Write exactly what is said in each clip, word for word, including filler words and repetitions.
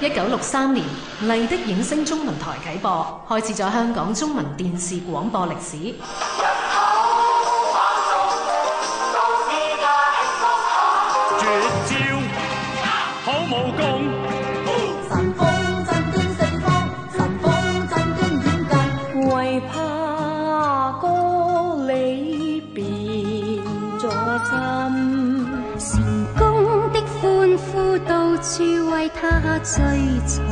一九六三年，麗的映聲中文台啟播，開始咗香港中文電視廣播歷史。 絕招好武功， 神風震驚四方，神風震驚遠近，為怕哥你變咗心， 成功的歡呼到處為他追隨，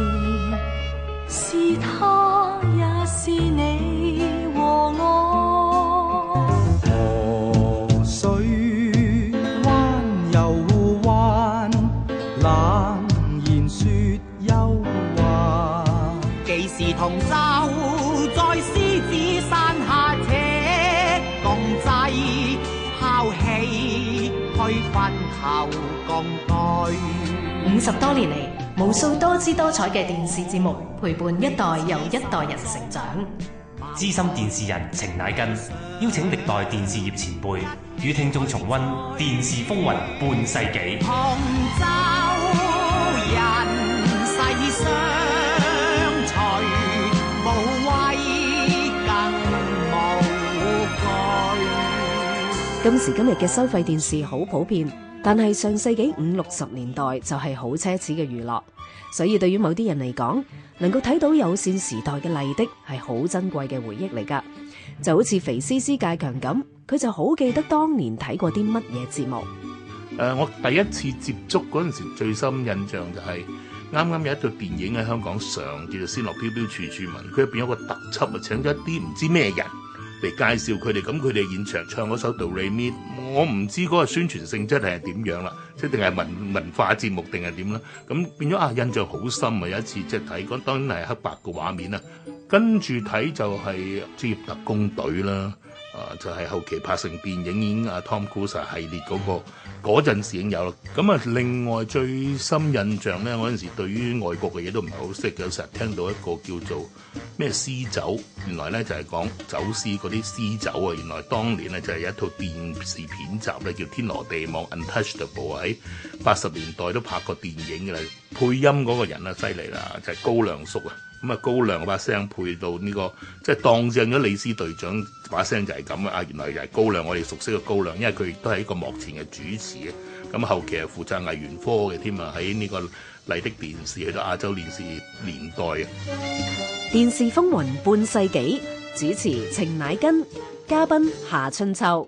是他也是你和我。 河水彎又彎，冷言説幽話， 既是同舟在獅子山下，且共濟拋棄去分頭共對。 五十多年嚟，無數多姿多彩嘅電視節目陪伴一代又一代人成長。 資深電視人程乃根邀請歷代電視業前輩與聽眾重溫電視風雲半世紀。 同舟人世相隨，無畏更無懼。 今時今日嘅收費電視好普遍，但係上世紀五六十年代就係好奢侈嘅娛樂，所以對於某啲人嚟講，能夠睇到有線時代嘅麗的係好珍貴嘅回憶嚟㗎。就好似肥絲絲介強咁，佢就好記得當年睇過啲乜嘢節目。 誒、呃，我第一次接觸嗰陣時，最深印象就係啱啱有一套電影喺香港上，叫做《仙樂飄飄處處聞》，佢入邊有個特輯啊，請咗一啲唔知咩人嚟介紹佢哋，咁佢哋現場唱嗰首《Do Re Mi》，我唔知嗰個宣傳性質係點樣啦，即係定係文文化節目定係點啦，咁變咗啊印象好深啊！有一次即係睇嗰，當然係黑白嘅畫面啦，跟住睇就係《職業特工隊》啦，啊就係、是、後期拍成電影已經啊 Tom Cruise 系列嗰、那個。嗰陣時已經有啦，咁啊另外最深印象咧，我嗰陣時對於外國嘅嘢都唔係好識嘅，有時聽到一個叫做咩私酒，原來咧就係講走私嗰啲私酒啊，原來當年咧就係有一套電視片集咧叫《天羅地網 Untouchable》，喺八十年代都拍過電影嘅啦，配音嗰個人啊犀利啦，就係、是、高亮叔啊。咁啊，高亮把聲配到呢、這個，即係當正咗李斯隊長把聲就係咁啊！原來就係高亮，我哋熟悉嘅高亮，因為佢亦都係一個幕前嘅主持嘅。咁後期係負責藝員科嘅添啊，喺呢個麗的電視去到亞洲電視年代啊。 電視風雲半世紀，主持程乃根，嘉賓夏春秋。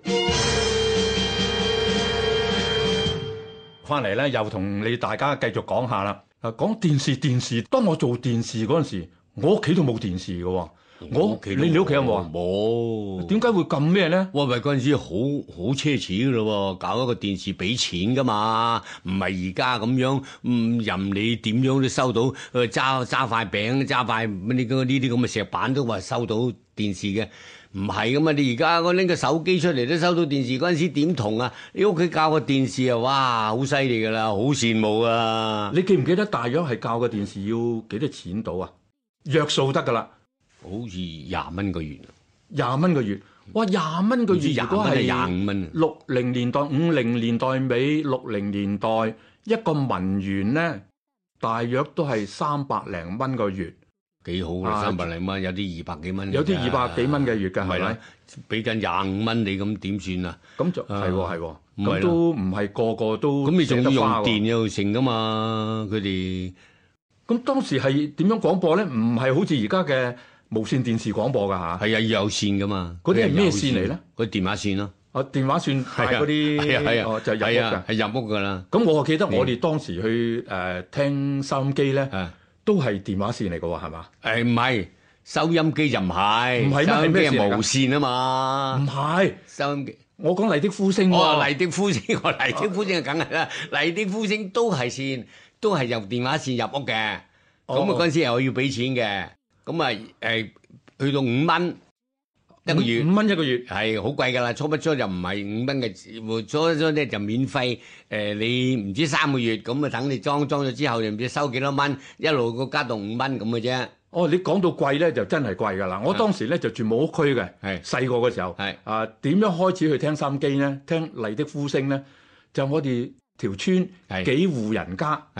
翻嚟咧，又同你大家繼續講下啦。啊，講電視電視，當我做電視嗰陣時，我屋企都冇電視嘅喎。我你你屋企有冇啊？ 冇。點解會咁咩咧？ 喂喂，嗰陣時好好奢侈嘅咯喎，搞一個電視俾錢噶嘛，唔係而家咁樣，嗯，任你點樣都收到，誒揸揸塊餅，揸塊呢啲呢啲咁嘅石板都話收到電視嘅。唔係噶嘛，你而家我拎個手機出嚟都收到電視，嗰陣時點同啊？你屋企教個電視啊，哇，好犀利噶啦，好羨慕啊！ 你記唔記得大約係教個電視要幾多錢到啊？約數得噶啦， 好似廿蚊個月， 廿蚊個月，哇，廿蚊個月如果係廿五蚊， 六零年代、五零年代尾、六零年代一個文員咧，大約都係三百零蚊個月。 幾好嘅，三百零蚊，有啲二百幾蚊， 有啲二百幾蚊嘅月㗎，係咪？ 俾緊廿五蚊你咁點算啊？ 咁就係喎係喎，咁都唔係個個都。 咁你仲要用電又成㗎嘛？佢哋咁當時係點樣廣播咧？唔係好似而家嘅無線電視廣播㗎嚇。 係啊，要有線㗎嘛。 嗰啲係咩線嚟咧？ 嗰啲電話線咯。 啊，電話線係嗰啲係啊係啊， 就入屋㗎， 係入屋㗎啦。 咁我記得我哋當時去誒聽收音機咧。都係電話線嚟嘅喎，係嘛？ 誒唔係，收音機就唔係， 唔係收音機係無線啊嘛。 唔係收音機， 我講麗的呼聲喎。 哦，麗的呼聲，我麗的呼聲梗係啦，麗的呼聲都係線，都係由電話線入屋嘅。咁啊嗰陣時又要俾錢嘅，咁啊誒去到五蚊一個月， 五蚊一個月係好貴㗎啦。初不初就唔係五蚊嘅，初初咧就免費。誒你唔知三個月咁啊，等你裝裝咗之後，又唔知收幾多蚊，一路個加到五蚊咁嘅啫。 哦，你講到貴咧，就真係貴㗎啦！我當時咧就住木屋區嘅，係細個嘅時候，係啊點樣開始去聽收音機咧？聽麗的呼聲咧，就我哋條村幾戶人家係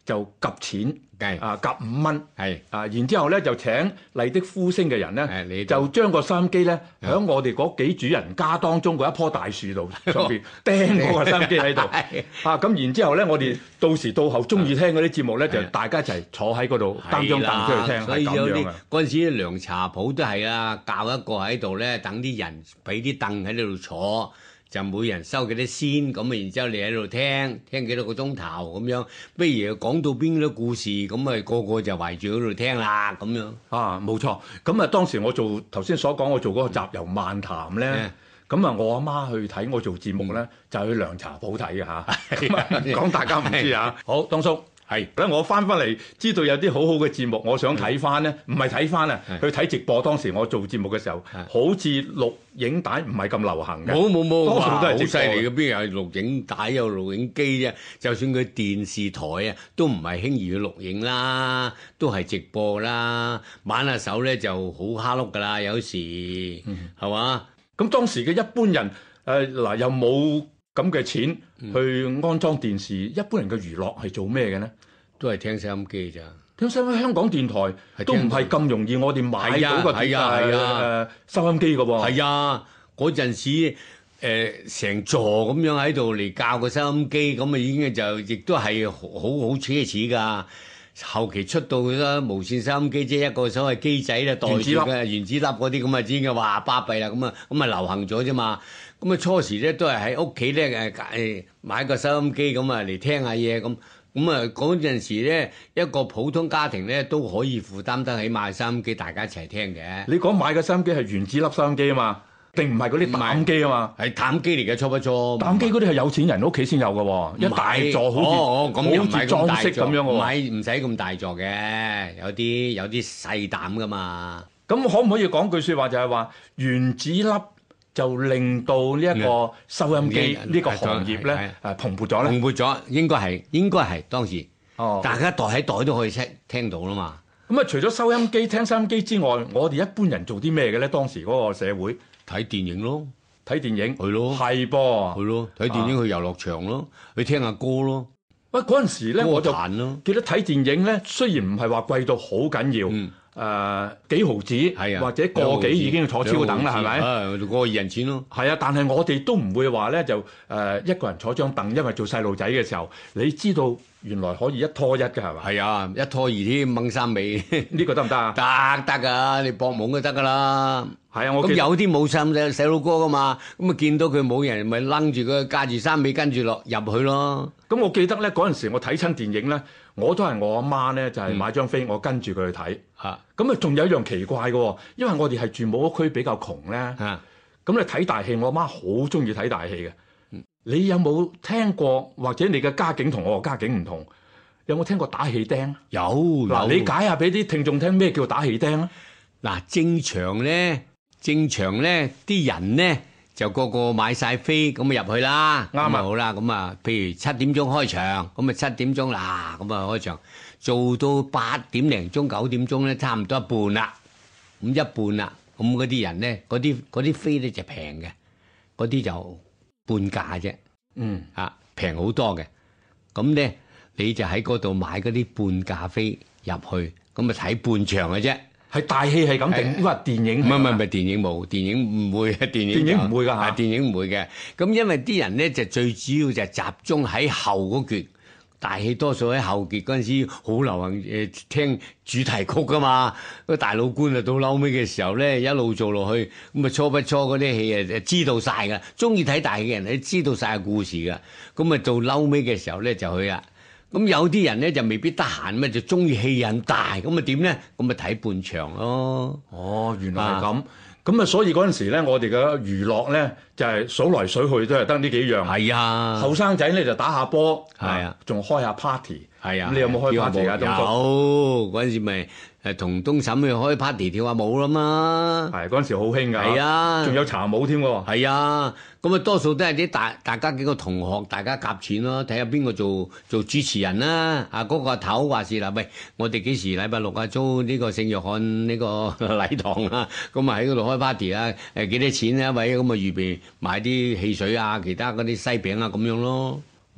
就夾錢， 係啊夾五蚊， 係啊，然之後咧就請麗的呼聲嘅人咧， 你就將個收音機咧喺我哋嗰幾主人家當中嗰一棵大樹度上邊釘嗰個收音機喺度，啊咁然之後咧，我哋到時到後中意聽嗰啲節目咧，就大家一齊坐喺嗰度擔張凳出去聽， 所以有啲係咁樣啊。 嗰陣時涼茶鋪都係啦，教一個喺度咧，等啲人俾啲凳喺度坐。就每人收幾多先，咁啊，然之後你喺度聽，聽幾多個鐘頭咁樣。不如講到邊啲故事，咁啊個個就圍住嗰度聽啦，咁樣。 啊，冇錯。咁啊，當時我做頭先所講，我做嗰個集郵漫談咧，咁啊，我阿媽去睇我做節目咧，就去涼茶鋪睇嘅嚇。咁啊，講大家唔知啊。好，當叔。係，咧我翻翻嚟知道有啲好好嘅節目，我想睇翻咧，唔係睇翻啊，去睇直播。當時我做節目嘅時候，好似錄影帶唔係咁流行嘅。 冇冇冇， 多數都係好犀利嘅，邊有錄影帶有錄影機啫？就算佢電視台啊，都唔係輕易去錄影啦，都係直播啦。玩下手咧就好蝦碌噶啦，有時係嘛？ 咁當時嘅一般人誒嗱又冇咁嘅錢去安裝電視，一般人嘅娛樂係做咩嘅呢？ 都係聽收音機咋。 聽收音機，香港電台都唔係咁容易，我哋買到個電誒收音機嘅喎。 係啊，嗰陣時誒成座咁樣喺度嚟教個收音機，咁啊已經就亦都係好好奢侈㗎。後期出到啦無線收音機，即係一個所謂機仔咧，袋住嘅原子粒嗰啲咁啊，已經話巴閉啦，咁啊咁啊流行咗啫嘛。咁啊初時咧都係喺屋企咧誒誒買個收音機咁啊嚟聽下嘢咁。咁啊嗰陣時咧一個普通家庭咧都可以負擔得起買收音機，大家一齊聽嘅。 你講買嘅收音機係原子粒收音機啊嘛？定唔係嗰啲膽機啊嘛？ 係膽機嚟嘅，初不初。 膽機嗰啲係有錢人屋企先有嘅喎，一大座好似哦咁又唔係咁大座咁樣喎。 唔係唔使咁大座嘅，有啲有啲細膽噶嘛。 咁可唔可以講句説話就係話原子粒就令到呢一個收音機呢個行業咧誒蓬勃咗咧？ 蓬勃咗，應該係應該係當時。 哦， 大家袋喺袋都可以聽聽到啦嘛。 咁啊，除咗收音機聽收音機之外，我哋一般人做啲咩嘅咧？當時嗰個社會。 睇電影咯， 睇電影係咯， 係噃， 係咯，睇電影去遊樂場咯，去聽下歌咯。 喂，嗰陣時咧，我就咯記得睇電影咧，雖然唔係話貴到好緊要，誒、呃、幾毫子， 係啊， 或者個幾已經坐超等啦，係咪？ 啊，個二人錢咯。 係啊，但係我哋都唔會話咧就誒、呃、一個人坐張凳，因為做細路仔嘅時候，你知道原來可以一拖一嘅係咪？ 係啊，一拖二添，掹三尾， 呢個得唔得啊？ 得得㗎，你搏懵都得㗎啦。 係啊，我咁有啲冇細細細路哥噶嘛，咁啊見到佢冇人，咪擸住佢架住衫尾跟住落入去咯。 咁我記得咧嗰陣時，我睇親電影咧，我都係我阿媽咧就係、是、買張飛，嗯、我跟住佢去睇。 嚇！ 咁啊，仲有一樣奇怪嘅，因為我哋係住冇屋區比較窮咧。嚇！咁你睇大戲，我阿媽好中意睇大戲嘅。嗯、你有冇聽過？或者你嘅家境同我嘅家境唔同，有冇聽過打戲釘？ 有嗱，你解下俾啲聽眾聽咩叫打戲釘啊？ 嗱，正常咧。正常咧，啲人咧就個個買晒飛咁啊入去啦，啱啊好啦，咁啊，譬如七點鐘開場，咁啊七點鐘啦，咁啊開場，做到八點零鐘九點鐘咧，差唔多一半啦，咁一半啦，咁嗰啲人咧，嗰啲嗰啲飛咧就平嘅，嗰啲就半價啫， 嗯啊平好多嘅，咁咧你就喺嗰度買嗰啲半價飛入去，咁啊睇半場嘅啫。 係大戲係咁定，抑或電影？ 唔係唔係唔係電影冇，電影唔會啊！電影電影唔會㗎嚇， 電影唔會嘅。咁因為啲人咧就最主要就係集中喺後嗰橛，大戲多數喺後橛嗰陣時好流行誒聽主題曲㗎嘛。個大老倌啊到嬲尾嘅時候咧一路做落去，咁啊初不初嗰啲戲啊知道晒㗎，中意睇大戲嘅人你知道晒個故事㗎。咁啊到嬲尾嘅時候咧就去啦。咁有啲人咧就未必得閒，咩就中意戲癮大，咁啊點咧？咁咪睇半場咯。 哦，原來係咁。咁啊，所以嗰陣時咧，我哋嘅娛樂咧就係、是、數來數去都係得呢幾樣。 係啊， 後生仔咧就打下波， 係啊， 仲開下 party。 係啊， 咁你有冇開 party 啊？ 有嗰陣時咪誒同東嬸去開 party 跳下舞啦嘛。 係嗰陣時好興㗎。 係啊， 仲有茶舞添喎。 係啊，咁啊多數都係啲大大家幾個同學，大家夾錢咯，睇下邊個做做主持人啦。啊，嗰、嗰個阿頭話事啦，喂，我哋幾時禮拜六啊租呢個聖約翰呢個禮堂啊？咁啊喺嗰度開 party 啊？誒幾多錢啊？喂，咁啊預備買啲汽水啊，其他嗰啲西餅啊咁樣咯。 哇！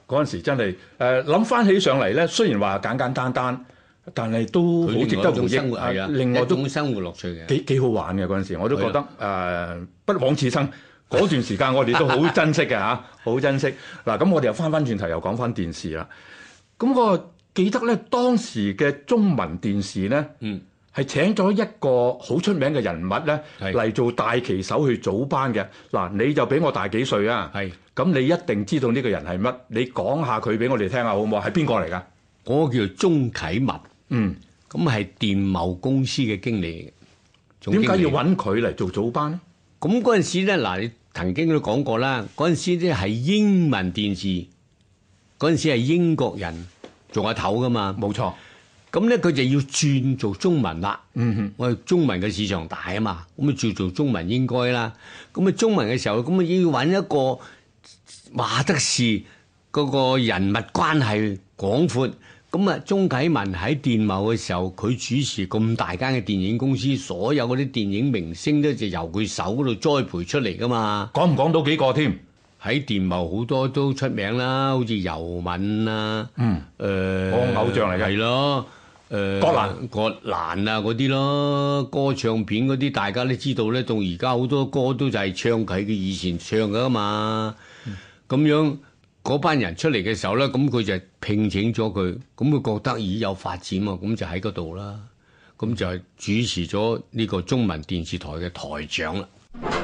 嗰陣時真係誒諗翻起上嚟咧，雖然話簡簡單單，但係都好值得回憶。 係啊， 另外都一種生活樂趣嘅， 幾幾好玩嘅嗰陣時，我都覺得誒、呃、不枉此生。嗰段時間我哋都好珍惜嘅嚇，好珍惜。嗱，咁我哋又翻翻轉頭又講翻電視啦。咁我記得咧，當時嘅中文電視咧，嗯，係請咗一個好出名嘅人物咧嚟做大旗手去組班嘅。嗱，你就比我大幾歲啊？係。咁你一定知道呢個人係乜？你講下佢俾我哋聽下好唔好？係邊個嚟㗎？ 嗰個叫做鍾啟文。 嗯。 咁係電懋公司嘅經理。 點解要揾佢嚟做組班咧？ 咁嗰陣時咧，嗱，你曾經都講過啦，嗰陣時咧係英文電視，嗰陣時係英國人做下頭噶嘛。 冇錯。 咁咧佢就要轉做中文啦。 嗯哼。 我哋中文嘅市場大啊嘛，咁啊做做中文應該啦。咁啊中文嘅時候，咁啊要揾一個話得事嗰個人物關係廣闊。咁啊，鍾啟文喺電懋嘅時候，佢主持咁大間嘅電影公司，所有嗰啲電影明星咧就由佢手嗰度栽培出嚟噶嘛。 講唔講到幾個添？ 喺電懋好多都出名啦，好似尤敏啊， 嗯， 誒、呃， 我偶像嚟嘅， 係咯，誒、呃， 葛蘭葛蘭啊嗰啲咯，歌唱片嗰啲大家都知道咧，到而家好多歌都就係唱佢嘅以前唱噶嘛，咁、嗯、樣。嗰班人出嚟嘅時候咧，咁佢就聘請咗佢，咁佢覺得咦有發展喎，咁就喺嗰度啦，咁就係主持咗呢個中文電視台嘅台長啦。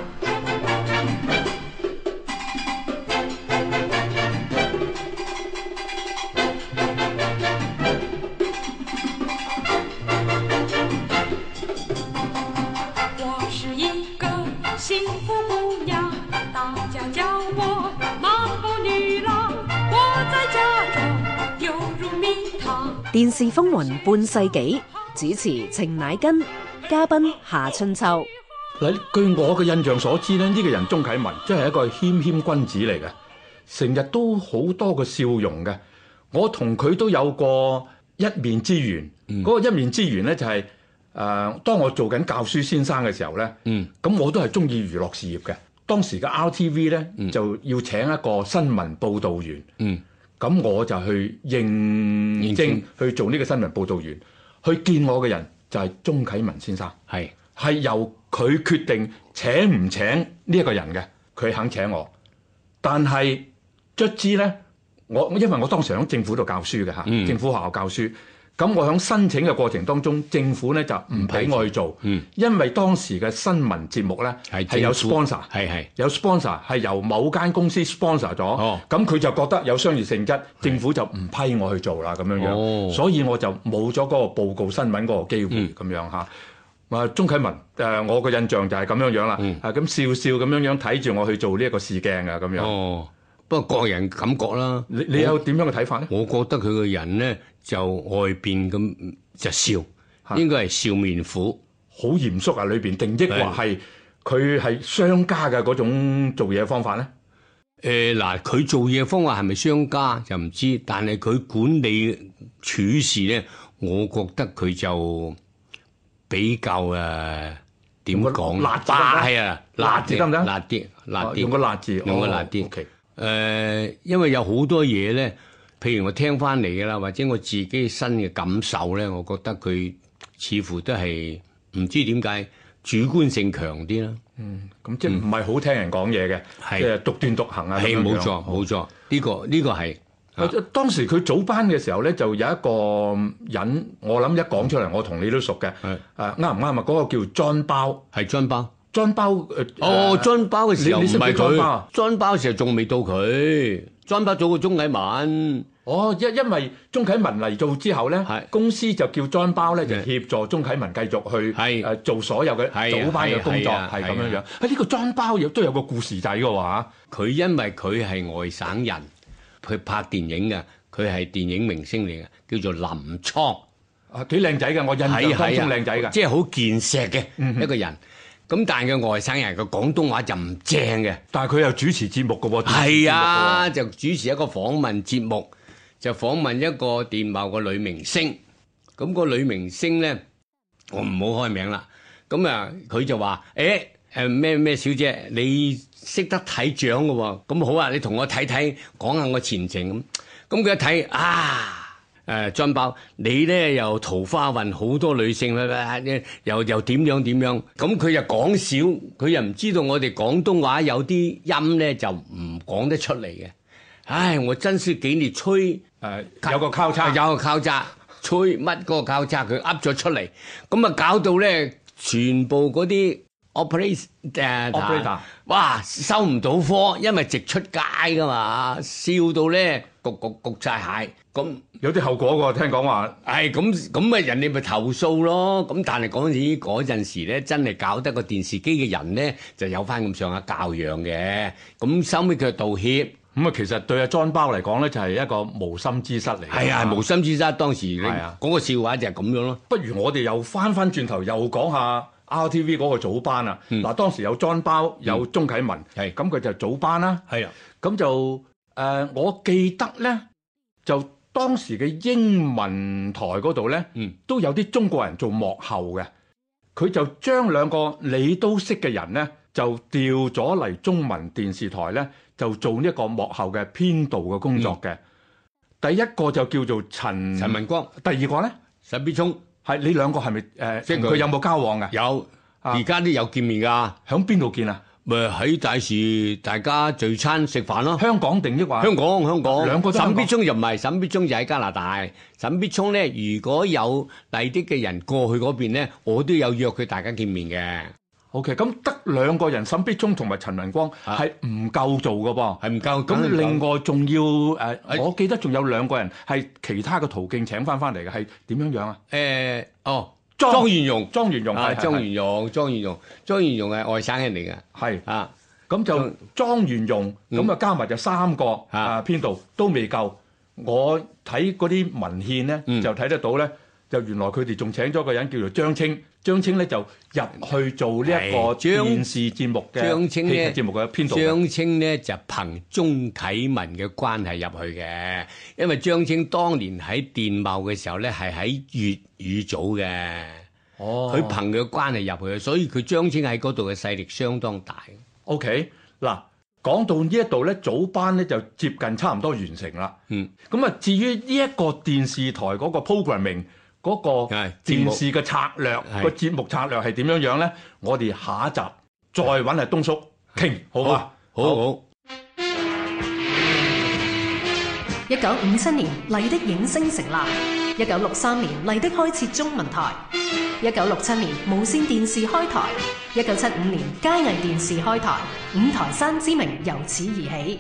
我是一個幸福姑娘，大家叫我漫步女郎。 電視風雲半世紀，主持程乃根，嘉賓夏春秋。 嗱，據我嘅印象所知咧，呢、這個人鍾啟文真係一個謙謙君子嚟嘅，成日都好多個笑容嘅。我同佢都有過一面之緣，嗰、嗯、個一面之緣咧就係、是、誒、呃，當我做緊教書先生嘅時候咧，咁、嗯、我都係中意娛樂事業嘅。當時嘅 R T V 咧、嗯、就要請一個新聞報導員。嗯咁我就去應徵去做呢個新聞報導員，去見我嘅人就係鍾啟文先生，係係由佢決定請唔請呢一個人嘅，佢肯請我。但係卒之咧，我因為我當時喺政府度教書嘅嚇、嗯，政府學校教書。咁我喺申請嘅過程當中，政府咧就唔俾我去做、嗯，因為當時嘅新聞節目咧係有 sponsor， 係係有 sponsor 係由某間公司 sponsor 咗，咁、哦、佢就覺得有商業性質，政府就唔批我去做啦咁樣樣、哦，所以我就冇咗嗰個報告新聞嗰個機會咁、嗯、樣嚇。啊，鍾啟文誒、呃，我嘅印象就係咁樣樣啦，嗯、啊咁笑笑咁樣樣睇住我去做呢一個試鏡啊咁樣。哦，不過個人感覺啦，你你有點樣嘅睇法咧？我覺得佢個人咧。就外邊咁就笑，應該係笑面虎，好嚴肅啊！裏邊定抑或係佢係商家嘅嗰種做嘢方法咧？誒嗱，佢做嘢方法係咪商家就唔知，但係佢管理處事咧，我覺得佢就比較誒點講？辣字係啊，辣字得唔得？辣啲，辣啲，用個辣字，用個辣啲。誒、呃，因為有好多嘢咧。譬如我聽翻嚟嘅啦，或者我自己新嘅感受咧，我覺得佢似乎都係唔知點解主觀性強啲啦。嗯，咁即係唔係好聽人講嘢嘅，即係獨斷獨行啊。係冇錯冇錯，呢個呢個係。啊，當時佢組班嘅時候咧，就有一個人，我諗一講出嚟，我同你都熟嘅。係誒啱唔啱啊？嗰個叫莊包，係莊包。莊包誒哦，莊包嘅時候唔係佢，莊包嘅時候仲未到佢。莊包早過鍾啟文。哦，因因為鍾啟文嚟做之後咧，公司就叫莊包咧，就協助鍾啟文繼續去誒做所有嘅組班嘅工作，係咁樣樣。啊，呢個莊包亦都有個故事仔嘅話，佢因為佢係外省人，佢拍電影嘅，佢係電影明星嚟嘅，叫做林蒼。啊，幾靚仔嘅，我印象當中靚仔嘅，即係好健碩嘅一個人。咁但係佢外省人嘅廣東話就唔正嘅，但係佢又主持節目嘅喎，係啊，就主持一個訪問節目，就訪問一個電懋個女明星。咁個女明星咧，我唔好開名啦。咁啊，佢就話：誒誒咩咩小姐，你識得睇獎嘅喎。咁好啊，你同我睇睇，講下我前程咁。咁佢一睇啊！誒張包，你咧又桃花運，好多女性啦，又又點樣點樣？咁佢又講少，佢又唔知道我哋廣東話有啲音咧就唔講得出嚟嘅。唉，我真係幾年吹誒、 呃、有個交叉， 有個交叉，吹乜嗰個交叉，佢噏咗出嚟，咁啊搞到咧全部嗰啲 operator 誒 operator 哇收唔到科，因為直出街噶嘛，笑到咧焗焗焗曬蟹。咁有啲後果喎，聽講話。 係咁咁啊，人哋咪投訴咯。咁但係嗰陣時嗰陣時咧，真係搞得個電視機嘅人咧，就有翻咁上下教養嘅。咁收尾佢道歉。 咁啊，其實對阿莊包嚟講咧，就係一個無心之失嚟。 係啊，無心之失。當時你講個笑話就係咁樣咯。 不如我哋又翻翻轉頭，又講下 R T V 嗰個早班啊。嗱、嗯，當時有莊包，有鐘啟文，係咁佢就早班啦。係啊，咁就誒、呃，我記得咧就。當時嘅英文台嗰度咧，嗯、都有啲中國人做幕後嘅，佢就將兩個你都識嘅人咧，就調咗嚟中文電視台咧，就做呢一個幕後嘅編導嘅工作嘅。嗯、第一個就叫做陳陳文光， 第二個咧沈必聰，係你兩個係咪誒？即係佢有冇交往㗎？ 有，而家都有見面㗎。 喺邊度見啊？ 咪喺大時大家聚餐食飯咯。 香港定抑或香港香港兩個都香港。 沈必聰又唔係，沈必聰就喺加拿大。沈必聰咧，如果有第啲嘅人過去嗰邊咧，我都有約佢大家見面嘅。 OK， 咁得兩個人，沈必聰同埋陳文光係唔夠做嘅噃， 係唔夠。 咁另外仲要誒、呃，我記得仲有兩個人係其他嘅途徑請翻翻嚟嘅，係點樣樣啊？ 誒、呃，哦。 莊元容， 莊元容係莊元容，莊元容，莊元容係外省人嚟嘅， 係啊， 咁就莊元容，咁啊加埋就三個啊編導都未夠。我睇嗰啲文獻咧，就睇得到咧，就原來佢哋仲請咗個人叫做張青，張青咧就入去做呢一個電視節目嘅張青咧節目嘅編導。 張青咧就憑鐘啟文嘅關係入去嘅，因為張青當年喺電懋嘅時候咧係喺粵語組嘅，哦，佢憑佢嘅關係入去，所以佢張青喺嗰度嘅勢力相當大。 OK， 嗱，講到呢一度咧，早班咧就接近差唔多完成啦。嗯，咁啊，至於呢一個電視台嗰個 programming 嗰個電視嘅策略，個節目策略係點樣樣咧？我哋下一集再揾阿東叔傾，好嘛？ 好好。好一九五七年，麗的影星成立；一九六三年，麗的開設中文台；一九六七年，無線電視開台；一九七五年，佳藝電視開台，五台山之名由此而起。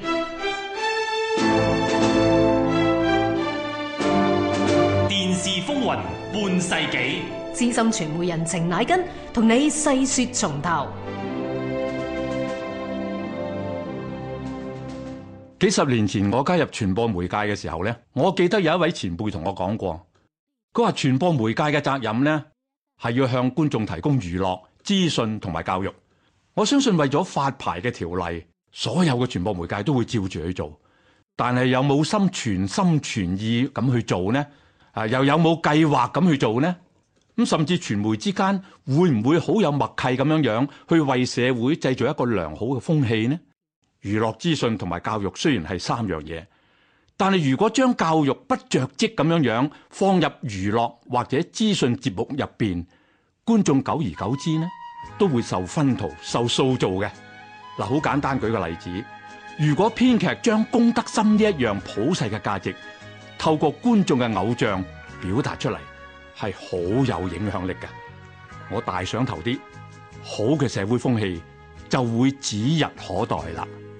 電視風雲半世紀， 資深傳媒人程乃根同你細說從頭。 幾十年前我加入傳播媒介嘅時候呢，我記得有一位前輩同我講過，佢話傳播媒介嘅責任呢係要向觀眾提供娛樂、資訊同埋教育。我相信為咗發牌嘅條例，所有嘅傳播媒介都會照住去做，但係有冇心全心全意咁去做呢？啊，又有冇計劃咁去做呢？咁甚至傳媒之間會唔會好有默契咁樣樣去為社會製造一個良好嘅風氣呢？娛樂資訊同埋教育雖然係三樣嘢，但係如果將教育不着跡咁樣樣放入娛樂或者資訊節目入邊，觀眾久而久之呢都會受熏陶、受塑造嘅。嗱，好簡單舉個例子，如果編劇將公德心呢一樣普世嘅價值透過觀眾嘅偶像表達出嚟，係好有影響力嘅。我大想投啲好嘅社會風氣就會指日可待啦。